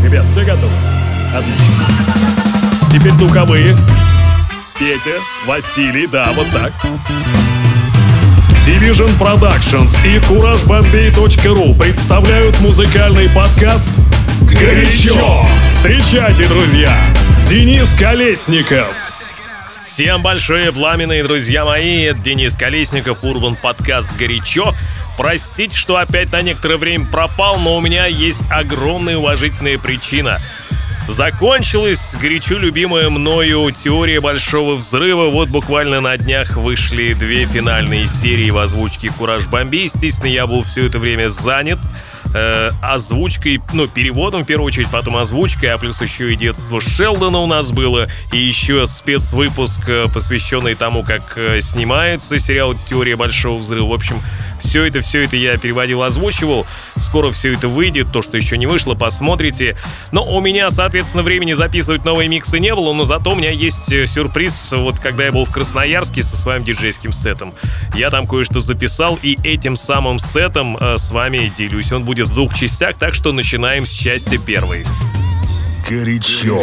Ребят, все готовы? Отлично. Теперь духовые. Петя, Василий, да, вот так. Division Productions и CourageBombay.ru представляют музыкальный подкаст «Горячо». Встречайте, друзья, Денис Колесников. Всем большое пламенные, друзья мои. Это Денис Колесников, Урбан подкаст «Горячо». Простите, что опять на некоторое время пропал, но у меня есть огромная уважительная причина. Закончилась горячо любимая мною теория Большого Взрыва. Вот буквально на днях вышли 2 финальные серии в озвучке Кураж Бомбей. Естественно, я был все это время занят озвучкой, переводом в первую очередь, потом озвучкой, а плюс еще и детство Шелдона у нас было, и еще спецвыпуск, посвященный тому, как снимается сериал «Теория Большого Взрыва». В общем, все это я переводил, озвучивал. Скоро все это выйдет, то, что еще не вышло, посмотрите. Но у меня, соответственно, времени записывать новые миксы не было, но зато у меня есть сюрприз. Вот когда я был в Красноярске со своим диджейским сетом, я там кое-что записал, и этим самым сетом с вами делюсь. Он будет в 2 частях, так что начинаем с части 1. Горячо.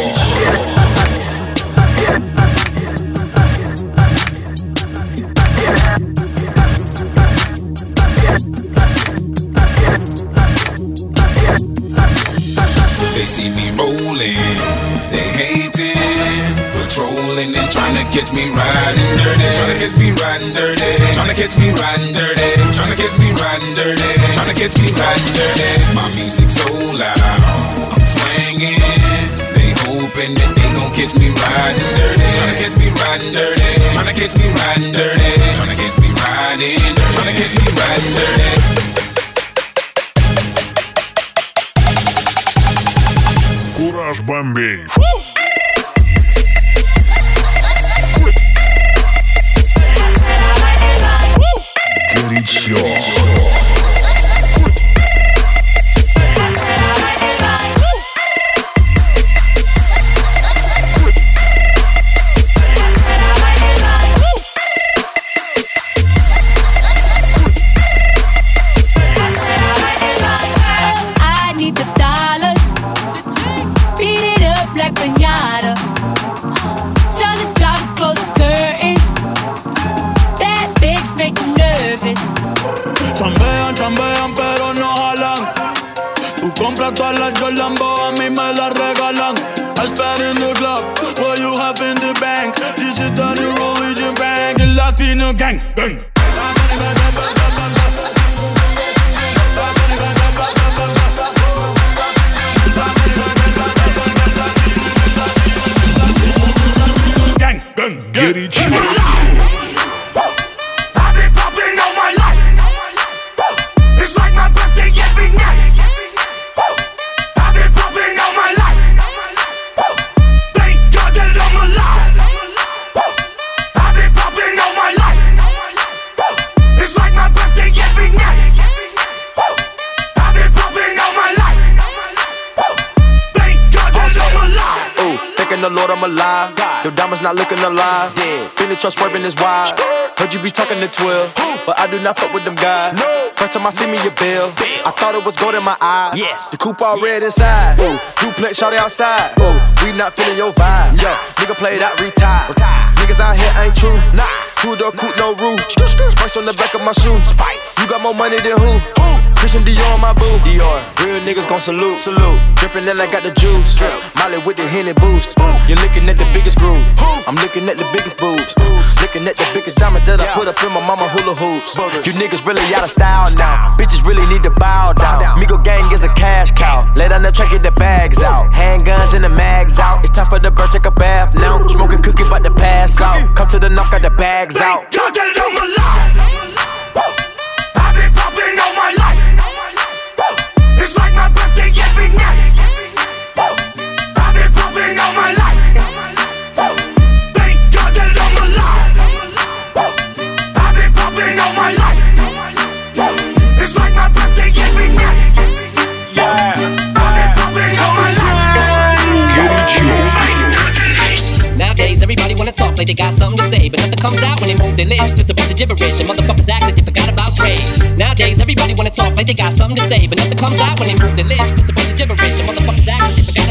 They see me rolling, they hating, patrolling and trying to catch me riding dirty, trying to catch me riding dirty, trying to catch me riding dirty, trying to catch me riding dirty, trying to catch me riding dirty. My music so loud, I'm swinging. They hoping that they gon' catch me riding dirty, trying to catch me riding dirty, trying to catch me riding dirty, trying to catch me riding dirty, trying to catch me riding dirty. Кураж Бомбей. Горячо. Chambean pero no jalan. Tú compras todas las Jordan, a mí me las regalan. I spend in the club, what you have in the bank. This is the new religion bank, el Latino gang, gang. Gang, gang, Горячо. The Lord, I'm alive. Your diamonds not looking alive. Feel the trust swerving is wide. Heard you be talking to 12, but I do not fuck with them guys. First time I see me a bill, I thought it was gold in my eyes. The coupe all red inside. Duplex shawty outside. We not feeling your vibe. Yo, nigga played out, retired. Niggas out here ain't true. Nah, 2-door coupe, no roof. Spice on the back of my shoe. Spice. You got more money than who? Christian Dior on my boo. Dior. Real niggas gon' salute. Salute. Drippin' then I got the juice. Drip. Molly with the Henny boost. You're looking at the biggest groove. I'm looking at the biggest boobs. Looking at the biggest diamond that I put up in my mama hula hoops. You niggas really out of style now. Bitches really need to bow down. Migo gang is a cash cow. Lay down the track, get the bags out. Handguns and the mags out. It's time for the bird, take a bath now. Smoking cookie, but to pass out. Come to the knock, got the bags out. God that I'm alive. I've been popping all my life. It's like my birthday every night. I've been popping all my life. Thank God that I'm alive. I've been popping all my life. It's like my birthday every night. I've been popping all my life. Nowadays everybody wanna talk like they got something to say, but nothing comes out when they move their lips. Just a bunch of gibberish and motherfuckers act like they forgot about trade. Nowadays everybody wanna talk like they got something to say, but nothing comes out when they move their lips. Just a bunch of gibberish and motherfuckers act like they forgot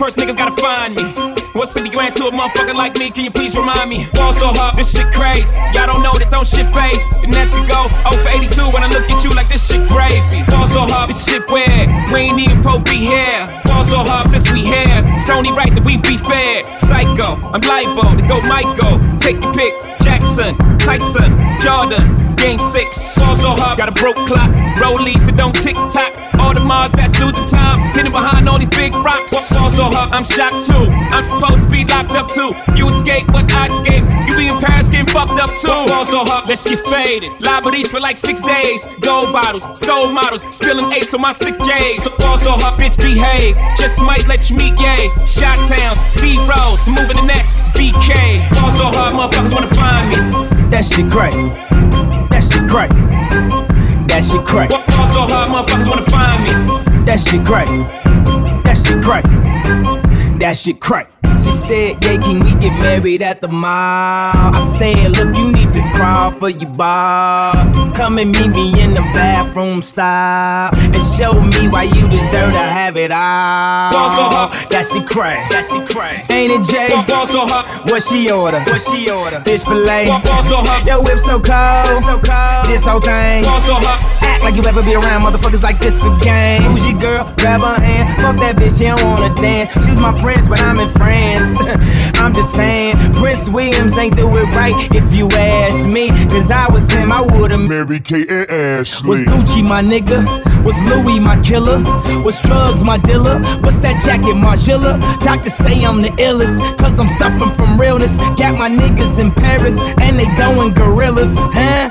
First niggas gotta find me. What's 50 grand to a motherfucker like me? Can you please remind me? Ball so hard, this shit crazy. Y'all don't know that don't shit phase. And that's we go 0 for 82 when I look at you like this shit gravy. Ball so hard, this shit weird. We ain't even pro be here. Ball so hard since we here. It's only right that we be fair. Psycho, I'm liable to go Michael. Take your pick. Jackson, Tyson, Jordan, Game 6. Ball so hard, got a broke clock. Rollies that don't tick tock. All the Mars that's losing time. Hidden behind all these big rocks. Ball so hard, I'm shocked too. I'm supposed to be locked up too. You escape, but I escape. You be in Paris getting fucked up too. Ball so hard, let's get faded. Liberties for like 6 days. Gold bottles, soul models, spilling ace on my sick days. So ball so hard, bitch behave. Just might let you meet gay. Shot towns, B-rolls, moving the next BK. Ball so hard, motherfuckers wanna find me. That shit crack. That shit crack. That shit crack. Ball so hard, motherfuckers wanna find me. That shit crack. That shit crack. That shit crack. She said, yeah, can we get married at the mall? I said, look, you need to crawl for your bar. Come and meet me in the bathroom style and show me why you deserve to have it all. Ball so hard. That shit crack. That shit crack. Ain't it, Jay? Ball so hard. What she order? What she order? Fish fillet. Ball so hard. Your whip so cold. So cold. This whole thing. Ball so hard. Act like you ever be around motherfuckers like this again. Who's your girl? Grab her hand. Fuck that bitch, she don't wanna dance. She's my friends, but I'm in France. I'm just saying, Prince Williams ain't do it right if you ask me. Cause I was him, I would've married Kate and Ashley. Was Gucci my nigga? Was Louis my killer? Was drugs my dealer? What's that jacket, Margiela? Doctors say I'm the illest, cause I'm suffering from realness. Got my niggas in Paris, and they going gorillas, huh?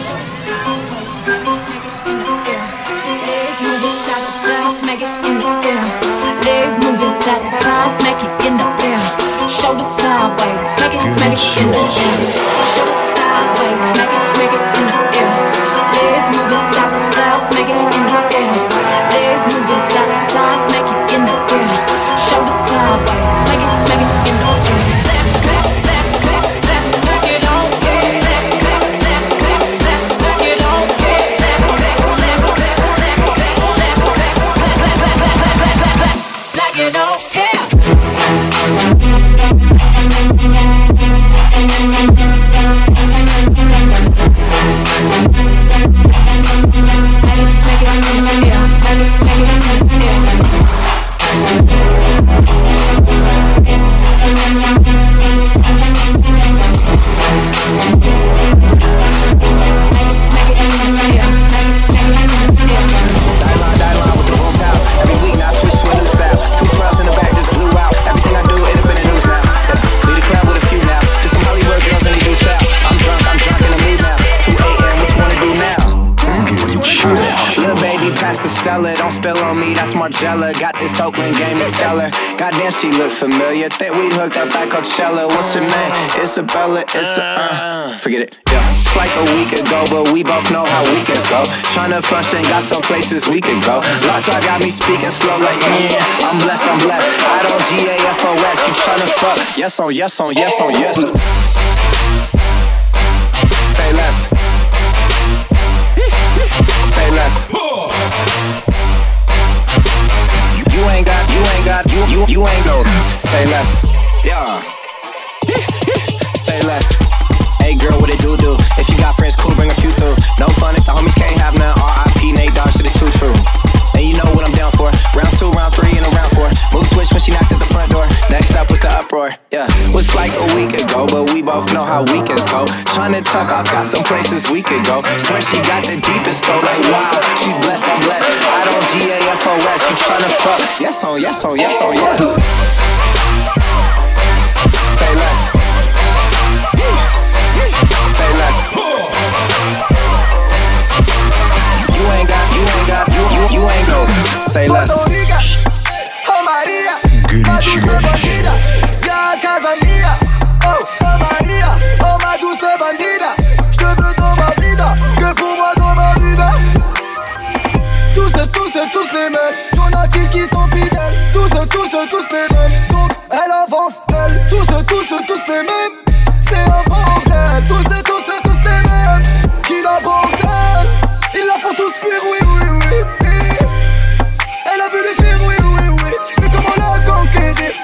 Smack it in the air, shoulder sideways, smack it in the air. Shoulder sideways, smack it in the air. Legs moving side to side, smack it in the air. Legs moving side to side, smack it in the air. Shoulder sideways, smack it in the air. Clap, clap, clap, clap, clap, it on, clap, clap, clap, clap, clap, clap, it on, clap, clap, clap, clap, clap, clap, like you don't care. Don't spill on me, that's Margiela. Got this Oakland game to tell her. Goddamn, she look familiar. Think we hooked up at Coachella. What's her name? Isabella. Forget it. Yeah. It's like a week ago, but we both know how weekends go. Tryna function, got some places we could go. Lockjaw got me speaking slow like yeah. I'm blessed, I'm blessed. I don't GAFOS. You tryna fuck? Yes on yes on yes on yes. Say less. Say less. You ain't go. Say less. Yeah. Say less. Hey girl, what it do? If you got friends, cool, bring a few through. No fun if the homies can't have none. R.I.P. Nate Dogg, shit is too true. And you know what I'm down for. Round 2, round 3, and a round 4. Move switch when she knocked at the front door. Next up was the uproar. Yeah, was like a week ago, but we both know how weekends go. Tryna tuck off, got some places we could go. Swear she got the deepest though, like wow. She's blessed, I'm blessed. I don't GAFOS. You tryna fuck? Yes on yes on yes on yes. Say less. Say less. You ain't go. Say less. Oh Maria, ma douce bandida, viens à casa mia. Oh Maria, oh ma douce bandida, je te veux dans ma vida, que pour moi dans ma vida. Tous les mêmes, y'en a-t-il qui sont fidèles? Tous les mêmes, donc elle avance, elle. Tous les mêmes, c'est un bordel. Tous les mêmes, qui la bordel. Ils la font tous fuir, oui. Elle a vu les pires, oui. Mais comment la conquérir?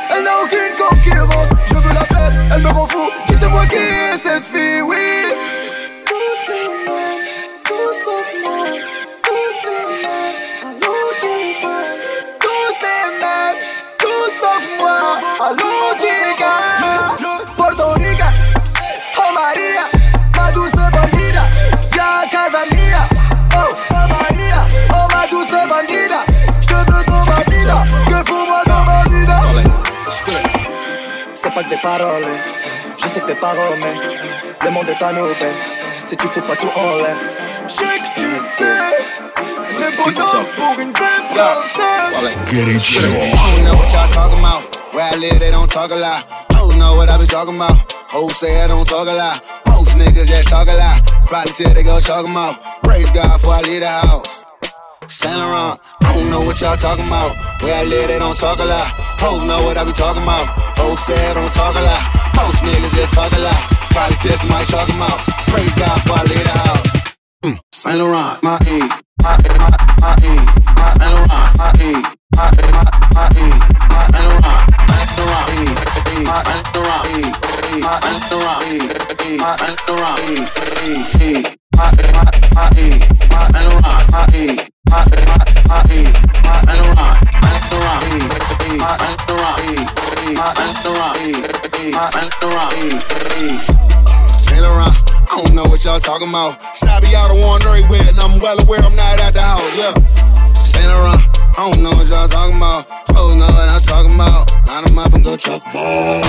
tes paroles. Je sais que t'es pas romain. Le monde est à nous, ben. Si tu fous pas tout en l'air. Je sais que tu le sais. Vrai bonhomme pour une vraie princesse. I don't know what y'all talking about. Where I live, they don't talk a lot. Hoes know what I be talking about. Hoes say I don't talk a lot. Most niggas just talk a lot. Probably till they go chalk 'em out. Praise God before I leave the house. Saint Laurent, I don't know what y'all talking about. Where I live, they don't talk a lot. Hoes know what I be talking about. Hoes say I don't talk a lot. Most niggas just talk a lot. Probably till somebody chalk 'em out. Praise God before I leave the house. Saint Laurent, my E, my E, my E, my Saint Laurent, my E, my E, my E, my Saint Laurent, Saint Laurent E, my Saint Laurent E, my Saint Laurent E, my Saint Laurent E, my E, my Saint Laurent, my E, my E, my Saint Laurent, Saint Laurent E, my Saint Laurent E, my Saint Laurent E, my Saint Laurent E. Saint Laurent, I don't know what y'all talking about. Sabi out of one everywhere, and I'm well aware I'm not at the house, yeah. Saint Laurent, I don't know what y'all talking about. Hoes know what I'm talking about. Line 'em up and go choke 'em all.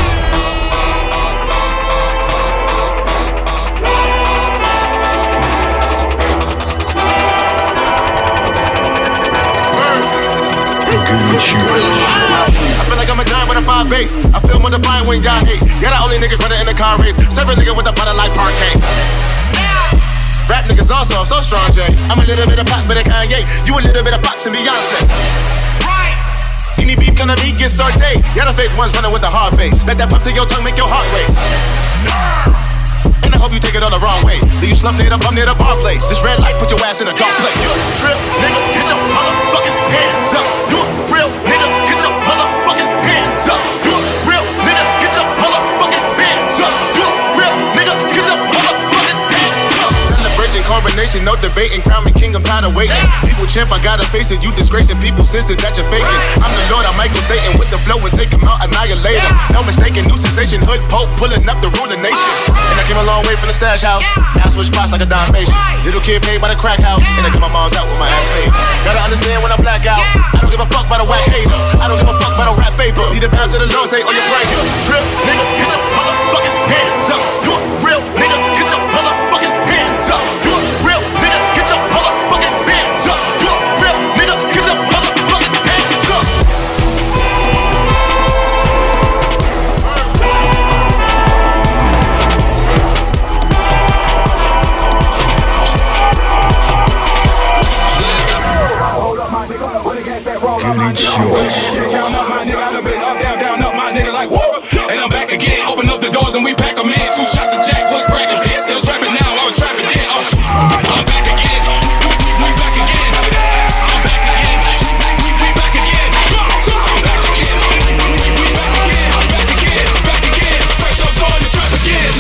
I feel like I'm a giant with a 5'8". I feel more defiant when y'all hate. Yeah, the only niggas running in the car race. Serve a nigga with a butter like parquet. Rap niggas also, I'm so strong, Jay. I'm a little bit of pop for the Kanye. You a little bit of Fox and Beyonce. Right. Any beef gonna be get sauteed. Yeah, the fake ones running with a hard face. Bet that pump to your tongue make your heart race. And I hope you take it all the wrong way. Do you slumped it up, I'm near the bar place. This red light put your ass in a dark place. You a trip, nigga, get your motherfucking hands up. You a real nigga, get your motherfucking hands up. You a real nigga, get your motherfucking hands up. You a real nigga, get your motherfucking hands up. Celebration, coronation, no debating. Crown me king, I'm tired of waiting. People champ, I gotta face it. You disgracing people, sense it that you're faking. I'm the Lord, I'm Michael Satan with the flow and take him out, annihilate him. No mistaken, new sensation, hood pope, pulling up the ruling nation. And I came a long way from the stash house. Now I switch spots like a Dalmatian. Little kid paid by the crack house. And I get my mom's out with my ass paid. Gotta understand when I black out. I don't give a fuck about a whack hater. I don't give a fuck about a rap paper. Need a pound to the Lord, say on your price. Trip, nigga, get your motherfucking hands up. You a real nigga, get your motherfucking hands up. You a real nigga, get your motherfucking hands up. You a real nigga, get your motherfucking hands up. Count up my nigga, I done been up, down, up my nigga like whoa. And I'm back again, open up the doors and we pack them in. 2 shots of Jack, what's cracking? Still trapping now, I was trapping then. I'm back again, we back again. I'm back again, we back again. I'm back again, we back again. I'm back again, fresh up on the trap again.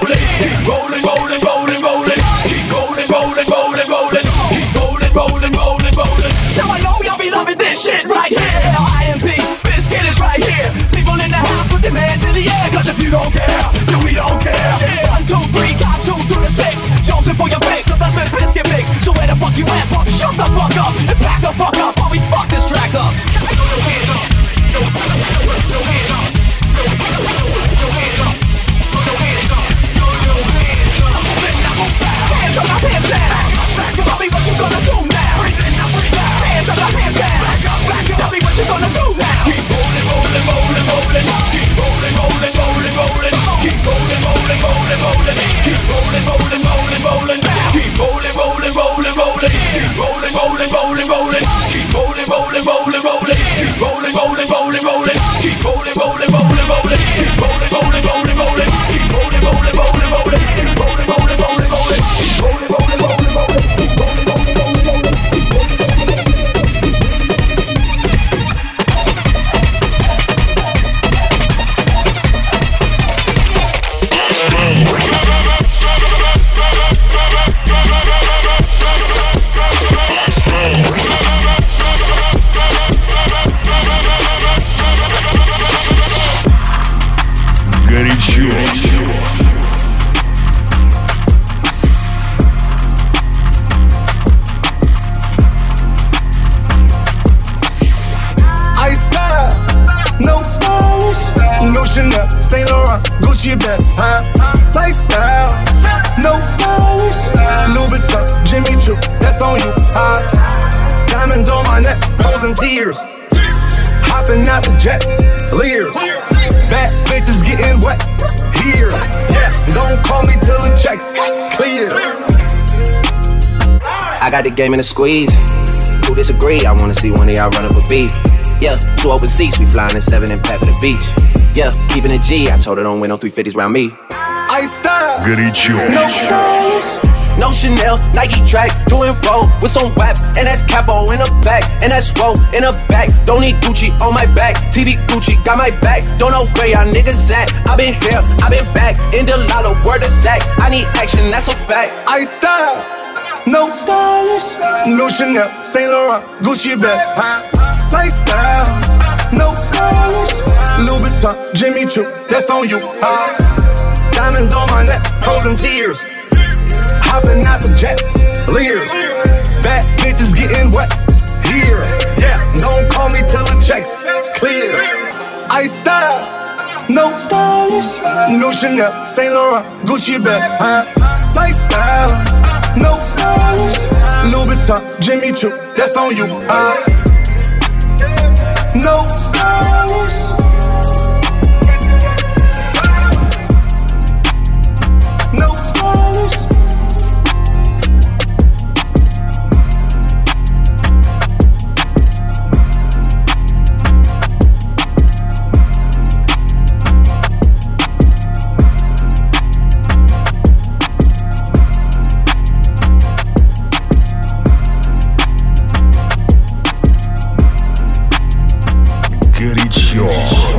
Rolling, Chanel, Saint Laurent, Gucci bag, lifestyle, no stylish. Louis Vuitton, Jimmy Choo, that's on you. Diamonds on my neck, frozen tears. Hopping out the jet, Lears. Bad bitches getting wet here. Yes, don't call me till the checks clear. I got the game in a squeeze. Who disagree? I wanna see one of y'all run up a beat. Yeah, 2 open seats, we flying in 7 and pack for the beach. Yeah, keeping it G, I told her don't win no 350s round me. I style, Горячо. no stylish. No Chanel, Nike track, doing roll with some waps, and that's capo in the back, and that's roll in the back. Don't need Gucci on my back, TV Gucci got my back. Don't know where y'all niggas at. I been here, I been back, in the lala, word of Zach. I need action, that's a fact. I style, no stylish. No Chanel, Saint Laurent, Gucci bag, lifestyle, no stylish. Louis Vuitton, Jimmy Choo, that's on you. Diamonds on my neck, frozen tears. Hopping out the jet, Lears. Bad bitches getting wet here. Yeah, don't call me till the checks clear. I style, no stylish. No Chanel, Saint Laurent, Gucci bag, lifestyle, no stylish. Louis Vuitton, Jimmy Choo, that's on you. No stylish. No stylish. Горячо.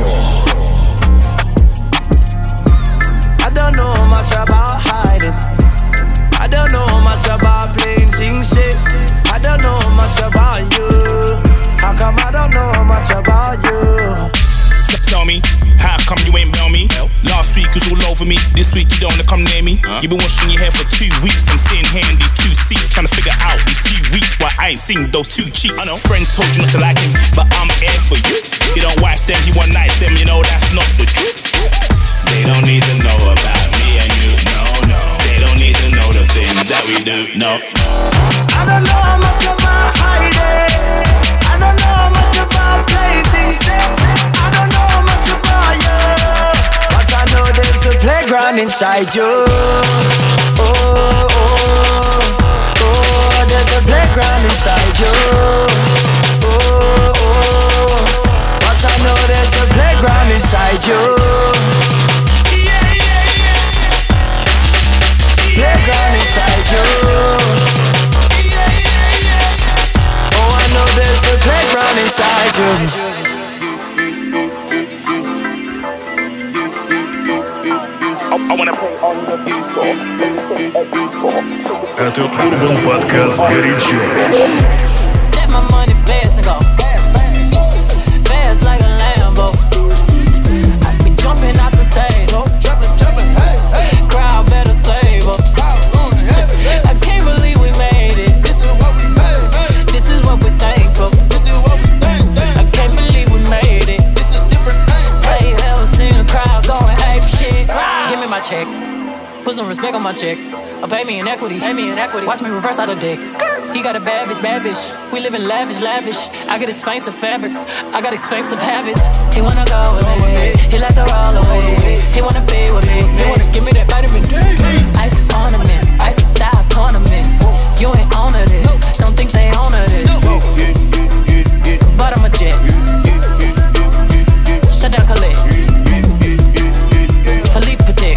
I don't know much about hiding. I don't know much about playing things safe. I don't know much about you. How come I don't know much about you? Tell me, how come you ain't bail me? Last week was all over me, this week you don't wanna come near me. You been washing your hair for 2 weeks, I'm sitting here in these 2 seats, trying to figure out these few weeks why I ain't seen those 2 cheeks. I know friends told you not to like him, but I'm here for you. He don't wife them, he one night them, you know that's not the truth. They don't need to know about me and you, no, no. They don't need to know the things that we do, no. I don't know how much about hiding. I don't know how much about playing things safe. I don't know how much about you, but I know there's a playground inside you. Oh, oh, oh, there's a playground inside you. Oh, oh, but I know there's a playground inside you. Yeah, yeah, yeah. Playground inside you. Yeah, yeah, yeah. Oh, I know there's a playground inside you. Это Urban Podcast «Горячо». Step my money fast and go fast like a Lambo. I be jumping out the stage, oh. Crowd better save her. I can't believe we made it. This is what we made. This is what we're thankful. This is what we think. I can't believe we made it. This is different thing. Hey, you ever seen a crowd going ape shit? Give me my check. Put some respect on my check. Or pay me in equity, Watch me reverse out of dicks. He got a bad bitch. We live in lavish. I get expensive fabrics, I got expensive habits. He wanna go with me, he likes to roll away. He wanna be with me, he wanna give me that vitamin D. Ice ornaments, ice style ornaments. You ain't on to this, don't think they own to this. But I'm a jet. Shut down, Khalid. Philippe Petit.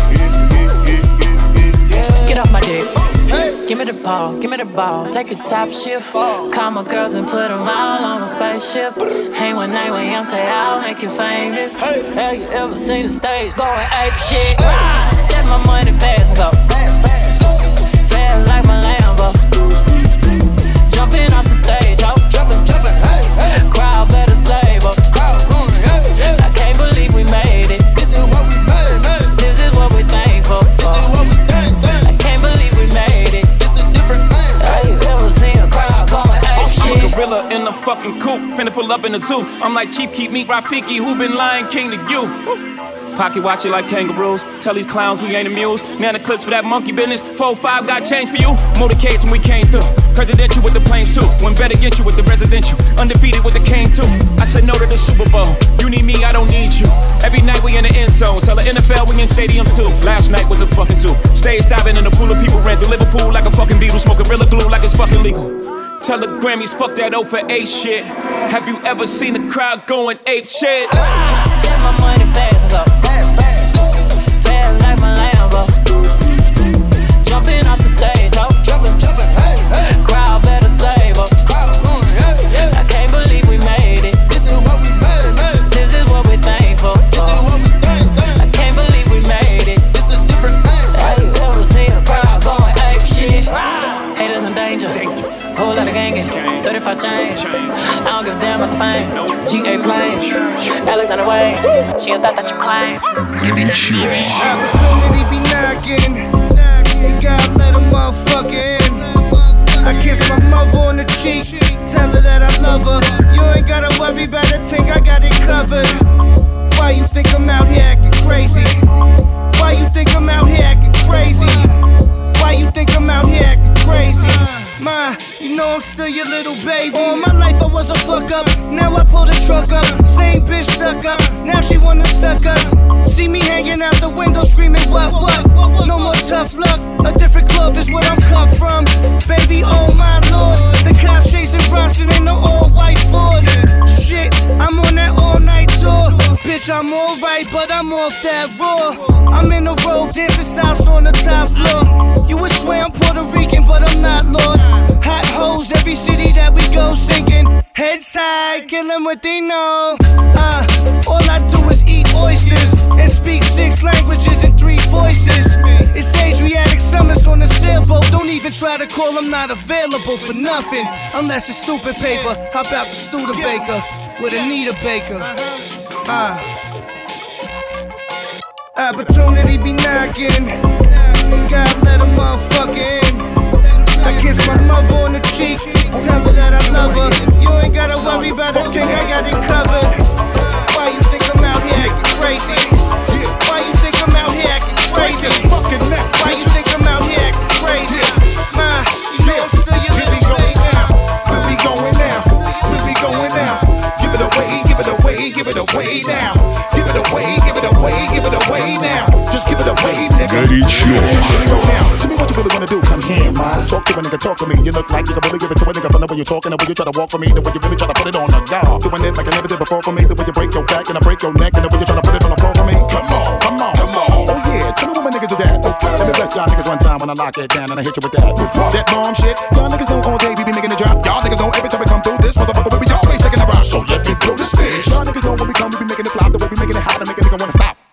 Get off my dick. Give me the ball, take a top shift. Call my girls and put them all on a spaceship. Hang one night with Young, say I'll make you famous. Have you ever seen the stage going ape shit? Step my money fast and go fast like my Lambo. Jumping off the stage, ho. Crowd better save up. I can't believe we made it. This is what we made. This is what we're thankful for. I can't believe we made it. This is different thing. Have you ever seen a crowd going ape shit? I'm a gorilla in a fucking coop, finna pull up in the zoo. I'm like Chief Keef, meet Rafiki, who been Lion King to you. Pocket watch it like kangaroos. Tell these clowns we ain't amused. Now the clips for that monkey business. 4-5 got change for you. Motorcades when we came through. Presidential with the planes too. When better get you with the residential. Undefeated with the cane too. I said no to the Super Bowl. You need me, I don't need you. Every night we in the end zone. Tell the NFL we in stadiums too. Last night was a fucking zoo. Stage diving in a pool of people. Ran through Liverpool like a fucking beetle. Smoking Gorilla Glue like it's fucking legal. Tell the Grammys fuck that 0 for 8 shit. Have you ever seen a crowd going ape shit? Step my money fast and go fast, fast. Fast like my Lambo. Jumping off the stage, ho. Jumping, hey, hey. Crowd better save up. I can't believe we made it. This is what we made. This is what we're thankful. This is what we think. I can't believe we made it. This is a different thing. Have you ever seen a crowd going ape shit? Haters in danger. Whole lot of gangin', 35 chains. I don't give a damn about the fame. GA planes, Alexander Wayne. She a thought that you claim. Give me that Opportunity be knocking. You gotta let a motherfucker in. I kiss my mother on the cheek. Tell her that I love her. You ain't gotta worry about a thing, I got it covered. Why you think I'm out here acting crazy? Why you think I'm out here acting crazy? Why you think I'm out here acting crazy? Ma, you know I'm still your little baby. All my life I was a fuck up. Now I pull the truck up. Same bitch stuck up. Now she wanna suck us. See me hanging out the window screaming what? No more tough luck. A different cloth is what I'm cut from. Baby, oh my lord. The cops chasing Bronson in the all-white Ford. Shit, I'm on that all-night tour. Bitch, I'm alright, but I'm off that raw. I'm in the road dancing sauce on the top floor. You would swear I'm Puerto Rican, but I'm not, Lord. Hot hoes, every city that we go singing. Head side, kill them what they know. All I do is eat oysters and speak 6 languages and 3 voices. It's Adriatic summers on a sailboat. Don't even try to call, I'm not available for nothing. Unless it's stupid paper. How about the Studebaker with Anita Baker? Opportunity be knocking. You gotta let a motherfucker in. I kiss my mother on the cheek. Tell her that I love her. You ain't gotta worry about a thing, I got it covered. Why you think I'm out here acting crazy? Why you think I'm out here acting crazy? Why you think I'm out here acting crazy? Ma, you know I'm still your little baby. Where we going now? Where we going now? Give it away, give it away, give it away now. Give it away, give it away, give it away now. Just give it away, nigga. Tell me what you really wanna do, come here, man. Talk to a nigga, talk to me. You look like you can really give it to a nigga from the way you're talking, the way you try to walk for me, the way you really try to put it on the guard. Doing it like I never did before for me, the way you break your back and I break your neck, and the way you try to put it on the floor for me. Come on, come on, come on. Oh yeah, tell me what my niggas is at. Okay, let me bless y'all niggas one time when I lock it down and I hit you with that. That bomb shit, y'all niggas know all day we be making it drop. Y'all niggas know every time we come through this motherfucker we be always taking a rock. So let me blow this fish. Y'all niggas know when we come we be making it flop, the way we making it hot to make a nigga wanna stop.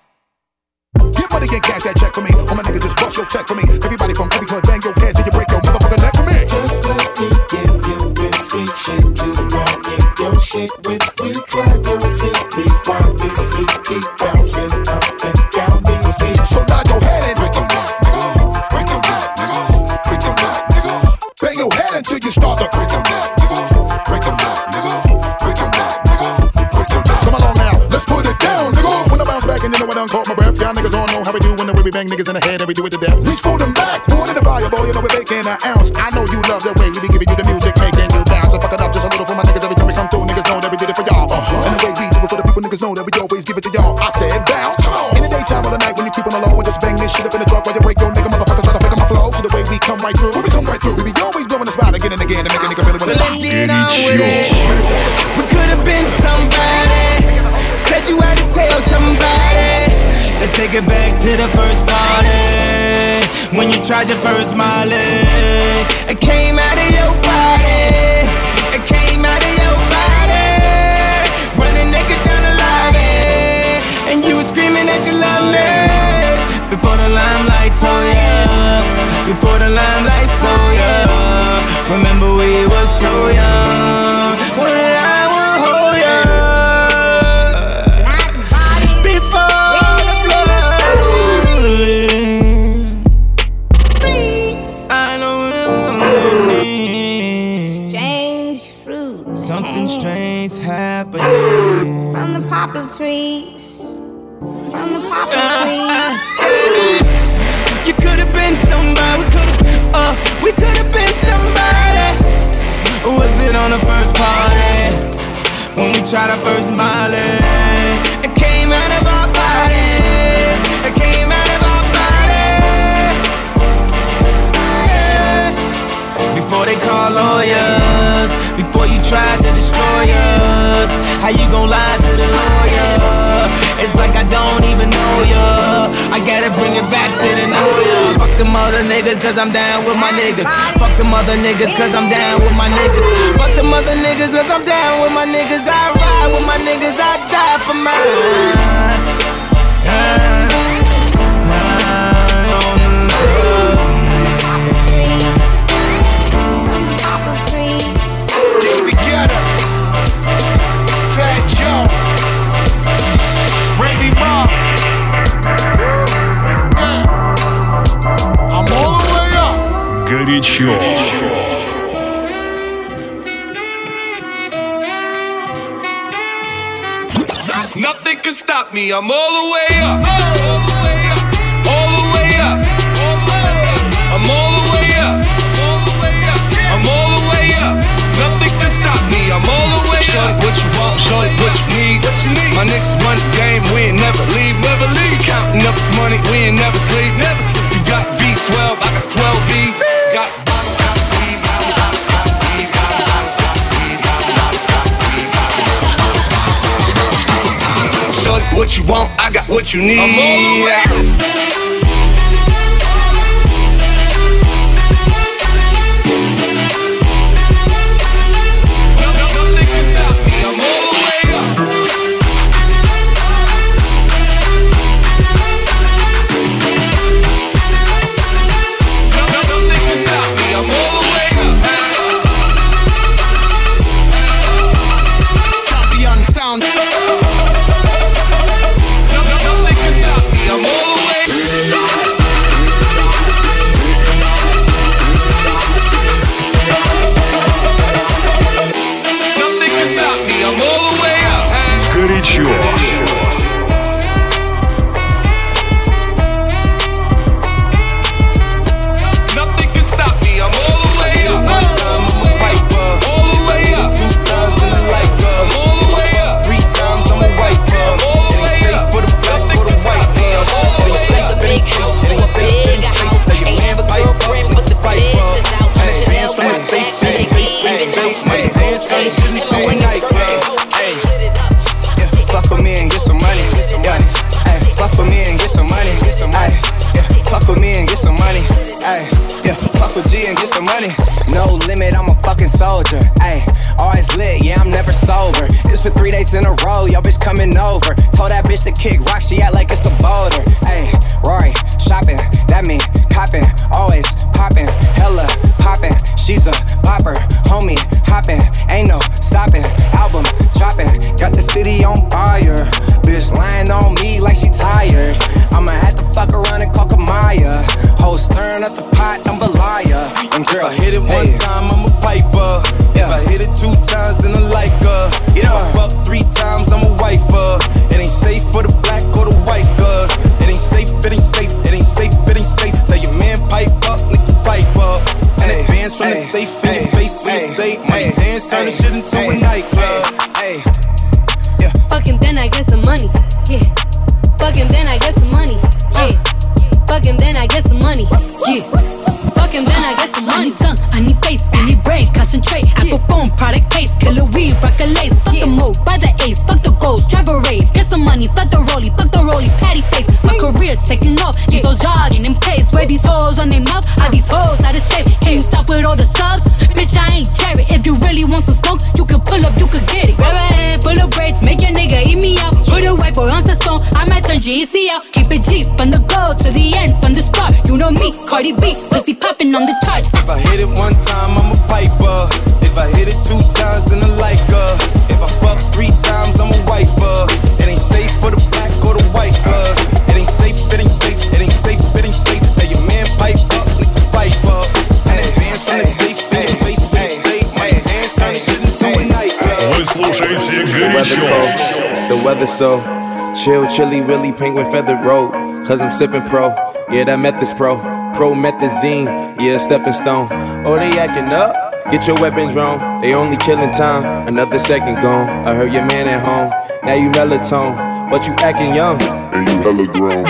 Get money and cash that check for me. All my niggas just bust your check for me. Everybody from every hood, bang your head till you break your motherfucking neck for me. Just let me give you real street shit to ride in your shit with. We clap your seat, rewind this heat, keep bouncing up and down these streets. So nod your head and break your neck, nigga. Break your neck, nigga. Break your neck, nigga. Bang your head until you start to break your neck, nigga. Break your neck, nigga. Break your neck, nigga. Break your neck. Come along now, let's put it down, nigga. When I bounce back and you know I done caught my breath, y'all niggas all know how we do when we bang niggas in the head and we do it to death. Reach for them back, one in the fire, boy, you know we're making an ounce. I know you love the way we be giving you the music, making you bounce. So fuck it up just a little for my niggas every time we come through. Niggas know that we did it for y'all. And the way we do it for the people, niggas know that we always give it to y'all. I said bounce. In the daytime or the night when you keep on the low and just bang this shit up in the truck while you break your nigga motherfuckers try to figure my flow. So the way we come right through, we come right through. We be always blowing the spot again and again to make a nigga really wanna stop. So let's get on with it. We could have been somebody. Said you had to tell somebody. Let's take it back to the first party. When you tried your first Molly. It came out of your body. It came out of your body. Running naked down the lobby. And you were screaming that you love me. Before the limelight told ya. Before the limelight stole ya. Remember we were so young. When I will hold ya. Something strange happening from the poplar trees. You could have been somebody, we could have been somebody. Was it on the first party? When we tried our first Molly? It came out of our body. It came out of our body. Yeah. Before they call lawyers, before you tried to destroy us, how you gon' lie to the lawyer? It's like I don't even know ya. I gotta bring it back to the know ya. Fuck them other niggas cause I'm down with my niggas. Fuck them other niggas cause I'm down with my niggas. Fuck them other niggas cause I'm down with my niggas. I ride with my niggas, I die for mine. Горячо. Nothing can stop me. I'm all the way up. All the way up. I'm all the way up. I'm all the way up. Nothing can stop me. I'm all the way up. Show it what you want, show it what you need. My niggas run the game, we ain't never leave. Counting up this money, we ain't never sleep. You got V12, I got 12 V's. Got shorty, what you want, I got what you need. I'm all the way up. In a row, yo bitch coming over. Told that bitch to kick rock, she act like it's a boulder. Ayy, Rory, shopping, that mean copping, always popping, hella popping. She's a bopper, homie, hopping, ain't no stopping. Album dropping, got the city on fire. Bitch lying on me like she tired. I'ma have to fuck around and call Kamaya. Whole stirring up the pot, jambalaya. And girl, if I hit it one time, I'm a piper. If I hit it 2 times, then I like her. If I fuck 3 times, I'm a wifer. It ain't safe for the black or the white girls. It ain't safe, it ain't safe, it ain't safe, it ain't safe. Tell your man pipe up, nigga pipe up. And advance from the safe in your face when you say money dance, turn the shit into a nightclub. Fuck him, then I get some money. Yeah. Fuck him, then I get some money. Yeah. Fuck him, then I get some money. Yeah. Fuck him, then I get some money. Tongue, I need face, I need brain, concentrate. Apple phone, product case, killer weed, rock a lace. Fuck the move, buy the ace, fuck the goals, drive a rave. Get some money, fuck the rollie, patty face. My career taking off, these hoes jogging in pace. Where these hoes on their mouth, are these hoes out of shape? Can you stop with all the subs? Bitch, I ain't cherry. If you really want some smoke, you can pull up, you can get it. Grab a hand, full of braids, make your nigga eat me out. Put a white boy on the song, I might turn GEC out. Keep it G, from the go to the end, from the start. You know me, Cardi B, pussy popping on the charts. If I hit it one time, I'm a piper. If I hit it 2 times, then I like her. If I fuck 3 times, I'm a wifer. It ain't safe for the black or the white girl. It ain't safe, it ain't safe, it ain't safe, it ain't safe. Tell your man pipe up, nigga pipe up. And advance from the safe in your face when you say money dance, turn the shit into a nightclub. Вы слушаете горячо. The weather so Chill, chilly, willy, penguin, feathered road. Cause I'm sippin' pro, yeah, that meth is pro. Promethazine, yeah, stepping stone. Oh, they acting up? Get your weapons wrong. They only killing time, another second gone. I heard your man at home, now you melatonin, but you acting young, and you hella grown.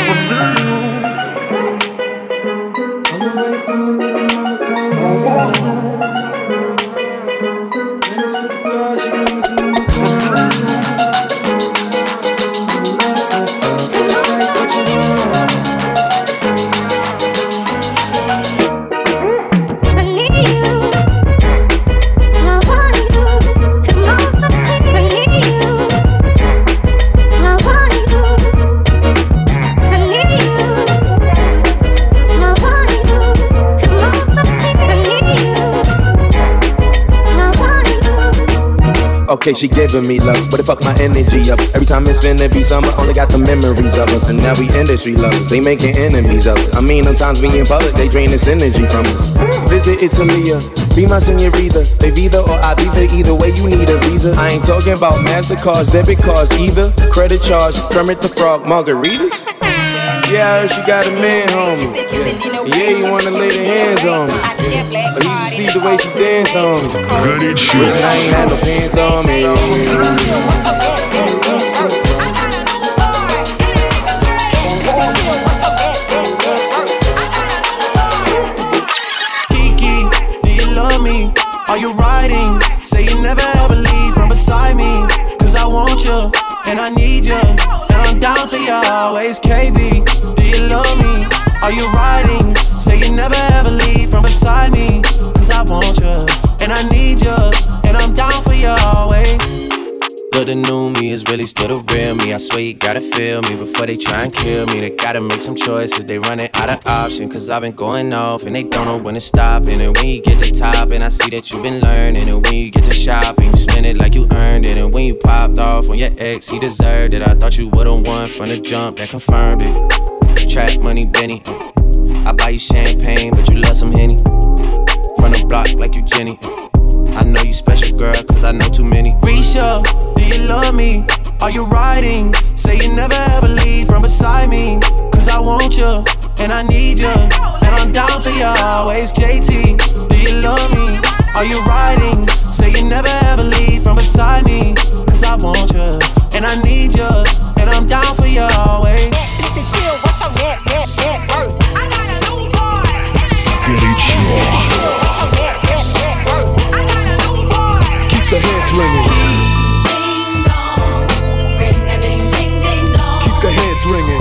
Okay, she giving me love, but it fuck my energy up. Every time it's finna be summer, only got the memories of us. And now we industry lovers, they making enemies of us. I mean, sometimes we in public, they drain this energy from us. Visit Italia, be my senorita. They Visa or I either way you need a visa. I ain't talking about MasterCards, debit cards either. Credit charge, Kermit the Frog, margaritas. Yeah, I heard she got a man, homie. Yeah, you wanna lay your hands on me. But you should see the way she dance on me. Горячо. Wishing I ain't had no pants on me. Kiki, do you love me? Are you riding? Say you never ever leave from beside me. Cause I want you, and I need you. I'm down for you always, KB. Do you love me? Are you riding? Say you never ever leave from beside me. Cause I want you, and I need you. And I'm down for you always. Look, the new me is really still the real me. I swear you gotta feel me before they try and kill me. They gotta make some choices, they running out of options. Cause I've been going off and they don't know when to stop. And then when you get to top, and I see that you've been learning. And when you get to shopping, you spend it like you earned it. And when you popped off on your ex, he deserved it. I thought you would've won from the jump, that confirmed it. Track money, Benny. I buy you champagne, but you love some Henny. From the block like you Jenny. I know you special, girl, cause I know too many. Risha, do you love me? Are you riding? Say you never ever leave from beside me. Cause I want you, and I need you. And I'm down for you always, JT. Do you love me? Are you riding? Say you never ever leave from beside me. Cause I want you, and I need you. And I'm down for you always. Keep the heads ringing. Keep the heads ringing.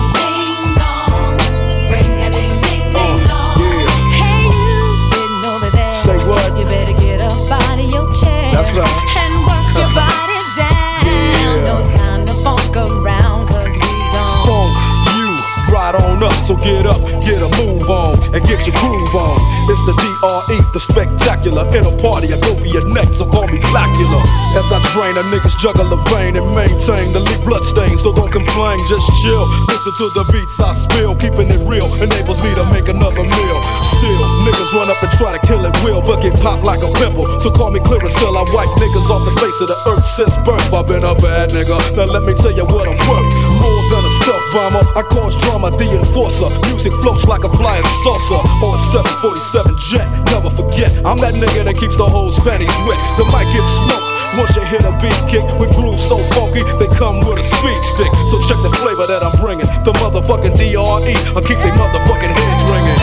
Hey, you sitting over there. Say what? You better get up out of your chair. That's right. And work your body down. Yeah. No time to funk around, cause we gon' Funk you right on up. So get up, get a move on, and get your groove on. It's the DRE, the spectacular. In a party, I go for your neck, so call me Blackula. As I drain a nigga's jugular vein and maintain the leak blood stain. So don't complain, just chill. Listen to the beats I spill. Keeping it real enables me to make another meal. Still, niggas run up and try to kill it will, but get popped like a pimple. So call me Clearasil, I wipe niggas off the face of the earth since birth. I've been a bad nigga, now let me tell you what I'm worth. More than a stuff bomber, I cause drama, the enforcer. Music floats like a flying saucer on a 747 jet. Never forget, I'm that nigga that keeps the whole panties wet. The mic gets smoked once you hit a beat kick with grooves so funky, they come with a speed stick. So check the flavor that I'm bringing. The motherfucking DRE, I'll keep they motherfucking heads ringing.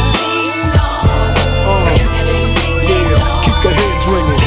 Yeah, keep the heads ringing.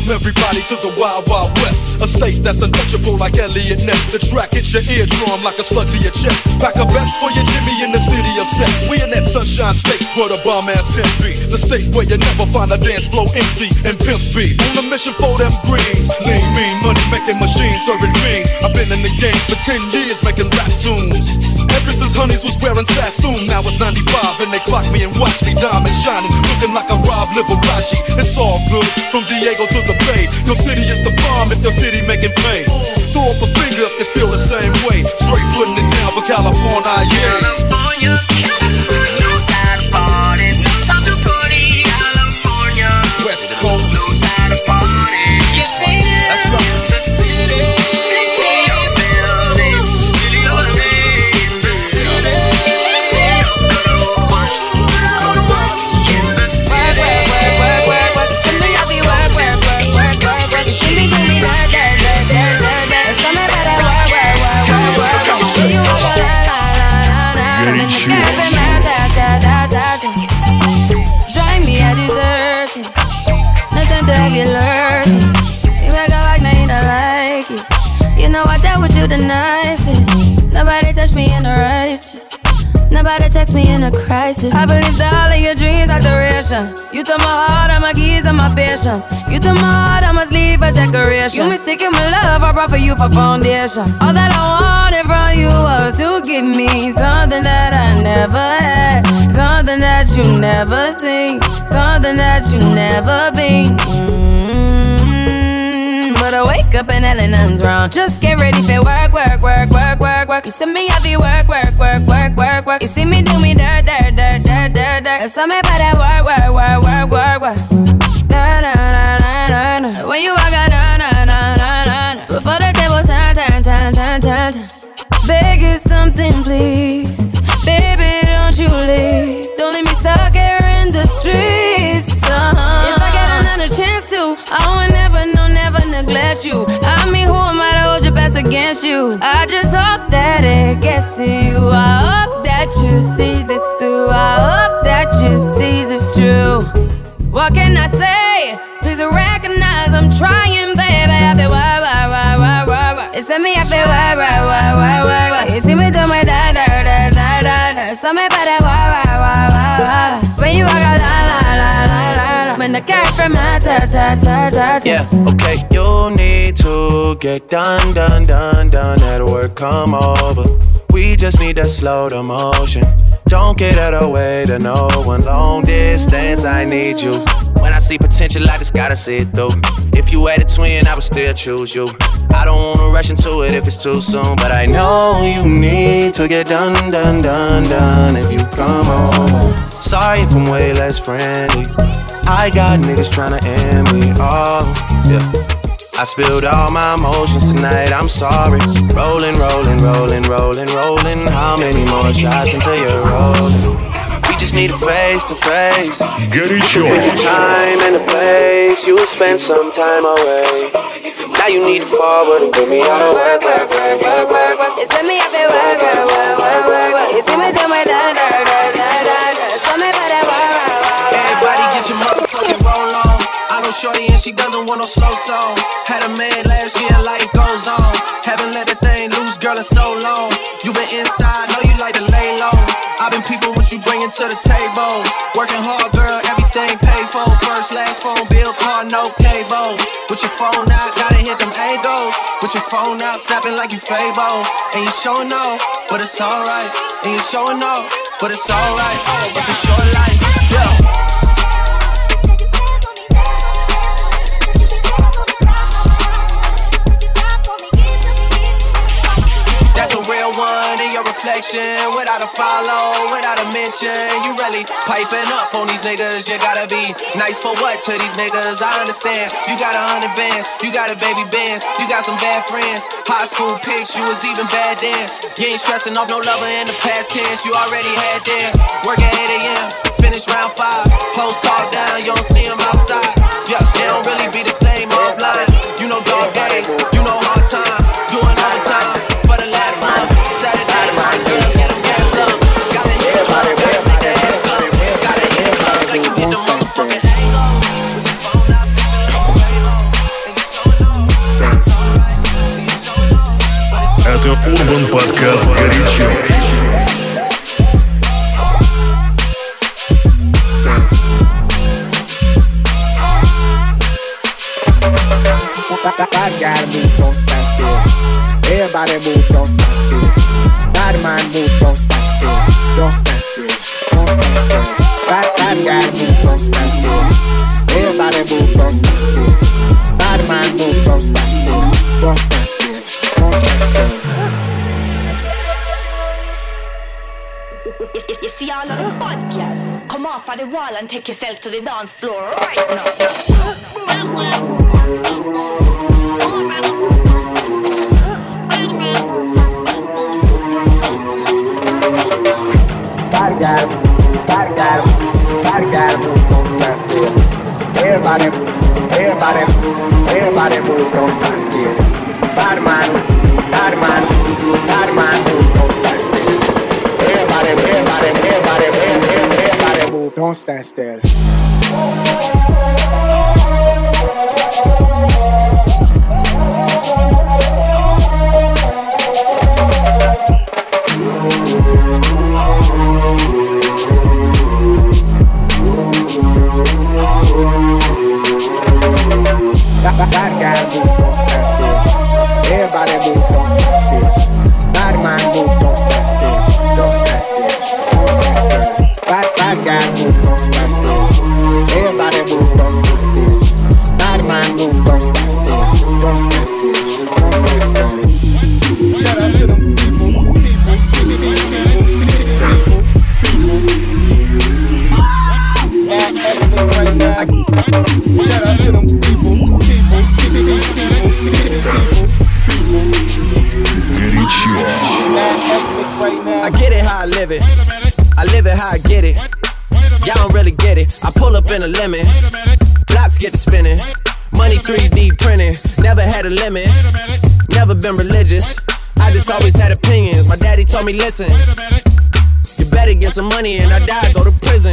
everybody to the Wild Wild West. A state that's untouchable like Elliot Ness. The track hits your eardrum like a slug to your chest. Pack a vest for your Jimmy in the city of sex. We in that sunshine state where the bomb ass hemp be. The state where you never find a dance floor empty and pimp speed. On a mission for them greens. Lean, mean, money making machines serving fiends. I've been in the game for 10 years making rap tunes. Ever since Honeys was wearing Sassoon, now it's 95 and they clock me and watch me diamond shining, looking like a Rob Liberace. It's all good from Diego to the Bay. Your city is the bomb if your city making pain. Throw up a finger if you feel the same way. Straight putting it down for California, yeah. California, knows how to party, knows how to party. California, West Coast, knows how to party. You see it? That's right. The city, city of buildings, city of living, the city, city of good old ones, good ones. In the city, work. Send me up, you work. You see me do me that. Some me better work. Show you how to Горячо. drive me a dessert. No time to have you lurking. You make a like, now you don't like it. You know I dealt with you the nicest. Nobody touched me in the righteous. Nobody text me in a crisis. I believe that all of your dreams are duration. You took my heart, all my keys, and my patience. You took my heart, I must leave a decoration. You mistaken my love, I brought for you for foundation. All that I wanted from you was to give me something that I never had, something that you never seen, something that you never been. But I wake up and hell nothing's wrong. Just get ready for work. You see me heavy work. You see me do me dirt. So me better work. When you walk out, before the table turn. Beg you something, please. Baby, don't you leave. Don't leave me stuck here in the streets. If I get another chance to, I would never neglect you. I mean, who am I to hold your best against you? I just hope that it gets to you. I hope that you see this through. I hope that you see this true. What can I say? Please recognize I'm trying, baby. I feel work. It's me, I feel work. You see me do my da. So me better work. When you walk out, la. When the cat from my yeah, okay, you need to get done. That work, come over. We just need to slow the motion. Don't get out of the way to no one. Long distance, I need you. When I see potential, I just gotta see it through. If you had a twin, I would still choose you. I don't wanna rush into it if it's too soon, but I know you need to get done. If you come over, sorry if I'm way less friendly. I got niggas tryna end me. Oh, yeah. I spilled all my emotions tonight, I'm sorry. Rolling. How many more shots until you're rolling? We just need a face to face. Горячо. Pick a time and a place. You spend some time away. Now you need to forward and give me all the work. You see me up there work. You see me do my da. So me better work. Everybody get your motherfucking roll on. I know shorty and she doesn't want no slow song. Had a man last year and life goes on. Haven't let the thing loose, girl, in so long. You been inside, know you like to lay low. I've been peeping what you bringing to the table. Working hard, girl, everything paid for. First, last phone bill, car, no cable. With your phone out, gotta hit them angles. With your phone out, snapping like you Fable. And you showing off, but it's alright. And you showing off, but it's alright. It's a short life, yeah. That's a real one in your reflection. Without a follow, without a mention. You really piping up on these niggas. You gotta be nice for what to these niggas? I understand. You got 100 bands, you got a baby Benz, you got some bad friends. High school pics, you was even bad then. You ain't stressing off no lover in the past tense. You already had them. Work at 8 a.m., finish round 5. Hoes talk down, you don't see them outside. Yeah, they don't really be the same offline. You know dog days, you know hard times. Doing overtime for the last month. Saturday night, girls get them gassed up. Gotta hit the club, gotta make the ass club. Gotta hit the club like you hit the motherfucking Halo. With your phone out, skipping like a Halo. Urban Podcast «Горячо». Bad guy move, don't stand still. Everybody move, don't stand still. Bad man move, don't stand still. Don't stand still, don't stand still. Bad guy move, don't stand still. Everybody move, don't stand still. Bad man move, don't stand still. Don't stand still, don't stand still. You see all of the bad girl, come off of the wall and take yourself to the dance floor right now. Bad guy move, don't stand still. Everybody move, don't stand still. Bad man move, don't stand still. Everybody move, don't stand still. Bad guy move, don't stand still. Everybody move, don't stand still. Bad man move, don't stand still. Don't stand still, don't stand still. Bad guy move, don't stand still. Everybody move, don't stand still. Bad man move, don't stand still. Don't stand still, don't stand still. Shout out to them people. Shout out to them people. I get it how I live it. I live it how I get it. Y'all don't really get it. I pull up in a lemon. Blocks get to spinning. Money 3D printing. Never had a limit. Never been religious. I just always had opinions. My daddy told me, listen, you better get some money and I die, go to prison.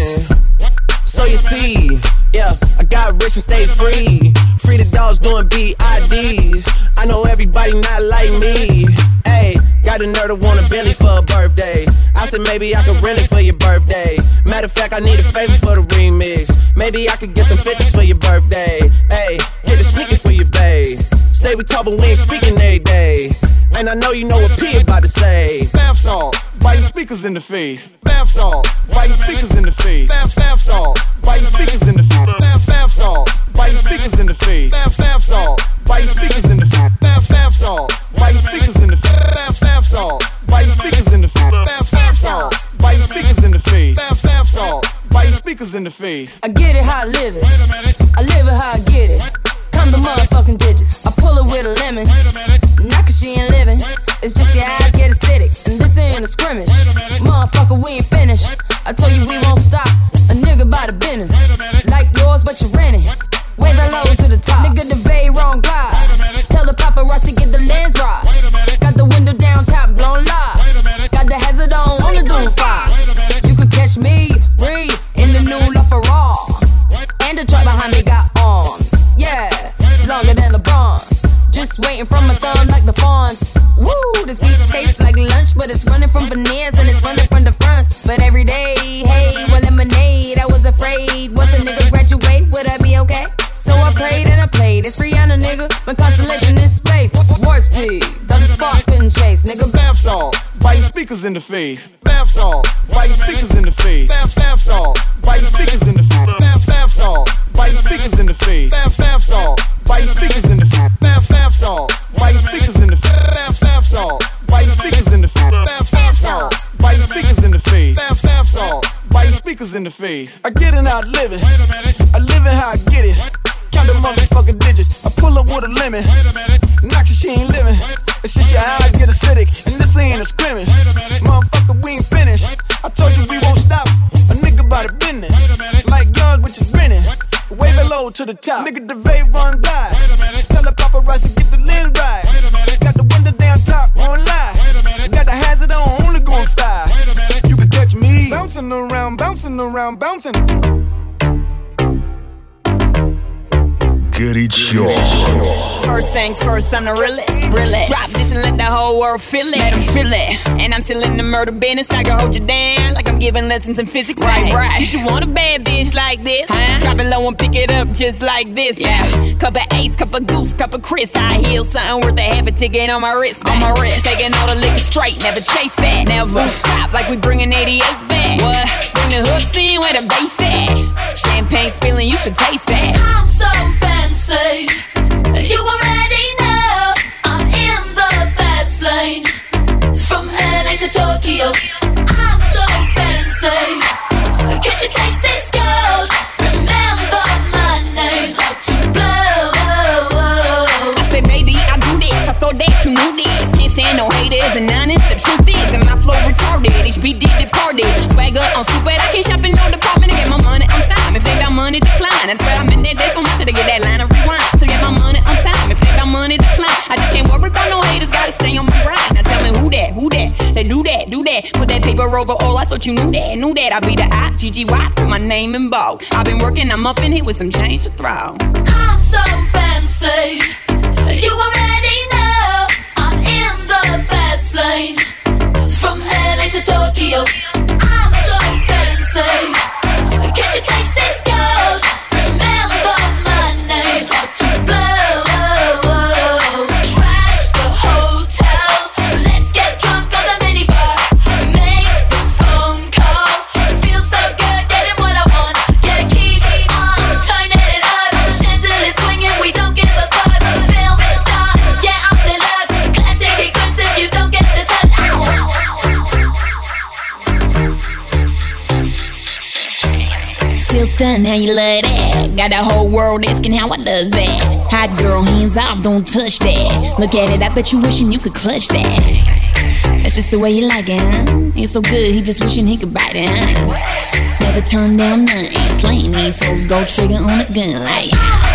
So you see, yeah, I got rich and stayed free. Free the dogs doing BIDs. I know everybody not like me. Hey, got a nerd to want a Bentley for a birthday. I said maybe I could rent it for your birthday. Matter of fact, I need a favor for the remix. Maybe I could get some 50s for your birthday. Hey, get a sneaker for your babe. Say we talk but we ain't speaking every day. And I know you know what P about to say. Bath salt, biting speakers in the face. Bath salt, biting speakers in the face. Bath salt, biting speakers in the face. Bath salt, biting speakers in the face. Bath salt, biting speakers in the face. Bath salt, biting speakers in the face. Bath salt, biting speakers in the face. Bath salt, biting speakers in the face. Bath salt, biting speakers in the face. I get it how I live it. I live it how I get it. Come the motherfucking digits. I pull it with a lemon. Not cause she ain't living. It's just your eyes get acidic. And this ain't a scrimmage. Motherfucker, we ain't finished. I told you we won't stop. A nigga by the business. Like yours, but you rent it. Way the low to the top. Nigga, the bay wrong glide. Tell the paparazzi get the lens right. Got the window down, top blown live. Got the hazard on the Doom 5. You could catch me, breathe, in the new LaFerrari. And the truck behind me got arms. Yeah, longer than LeBron. Just waiting from my thumb like the fawns. Woo, this beat tastes like lunch, but it's running from veneers and it's running from the fronts. But every day, hey, well, lemonade. I was afraid. Once a nigga graduate, would I be okay? So I prayed and I played. It's Rihanna, nigga. My constellation in space. Warp speed, though the spark couldn't chase, nigga. Bath salt, biting speakers in the face. Bath salt, biting speakers in the face. Bath salt, biting speakers in the face. Bath salt, biting speakers in the face. Bath salt, biting speakers in the face. Bath salt, biting speakers in the face. Bath salt, biting speakers in the face. Bath salt, biting speakers in the face. Bath salt, biting speakers in the face. I get it how I live it. I live it how I get it. Count the motherfucking digits. I pull up with a lemon. Not cause she ain't living. It's just your eyes get acidic. And this ain't a scrimmage. Motherfucker, we ain't finished. I told you we won't stop. A nigga by the business. Like yours, which is renting. Way below to the top. Nigga, the vape run by. Tell the paparazzi get the lens right. Got the window down top, won't lie. Got the hazard on, only going 5. You can catch me bouncing around, bouncing around, bouncing. горячо. First things first, I'm the realest. Drop this and let the whole world feel it. Let them feel it. And I'm still in the murder business. I can hold you down like I'm giving lessons in physics. Right. You should want a bad bitch like this. Drop it low and pick it up just like this. Yeah. Cup of Ace, cup of Goose, cup of Chris. High heels, something worth a half a ticket on my wrist. Taking all the liquor straight, never chase that. Never stop like we bringing 88 back. What? Bring the hooks in where the bass at. Champagne spilling, you should taste that. I'm so fancy. You already know I'm in the fast lane. From LA to Tokyo, I'm so fancy. Can't you taste this gold? Remember my name, how to blow. I said, baby, I do this. I thought that you knew this. Can't stand no haters and honest. The truth is, and my flow retarded. HBD departed. Swagger on stupid. I can't shop in no department to get my money on time. If they got money, decline. That's why I'm in that day so much to get that line of rewind. To get my money on time. If they got money, decline. I just can't worry about no haters. Gotta stay on my grind. Now tell me who that? They do that. Put that paper over all. I thought you knew that. I be the I-G-G-Y. Put my name in bold. I've been working. I'm up in here with some change to throw. I'm so fancy. You already know I'm in the fast lane. From LA to Tokyo, I'm so fancy. Can't you taste this gold? Remember my name, how to blow. Trash the hotel, let's get drunk on the minibar. Make the phone call, feel so good, getting what I want. Gotta keep on turning it up. Chandelier swinging, we don't give a fuck. Film star, yeah, I'm deluxe. Classic, expensive, you don't get to touch. Still stunned how you love that. Got the whole world asking how I does that. Hot girl, hands off, don't touch that. Look at it, I bet you wishing you could clutch that. That's just the way you like it, huh? Ain't so good, he just wishing he could bite it, huh? Never turn down nothing. Slaying these hoes, go trigger on a gun like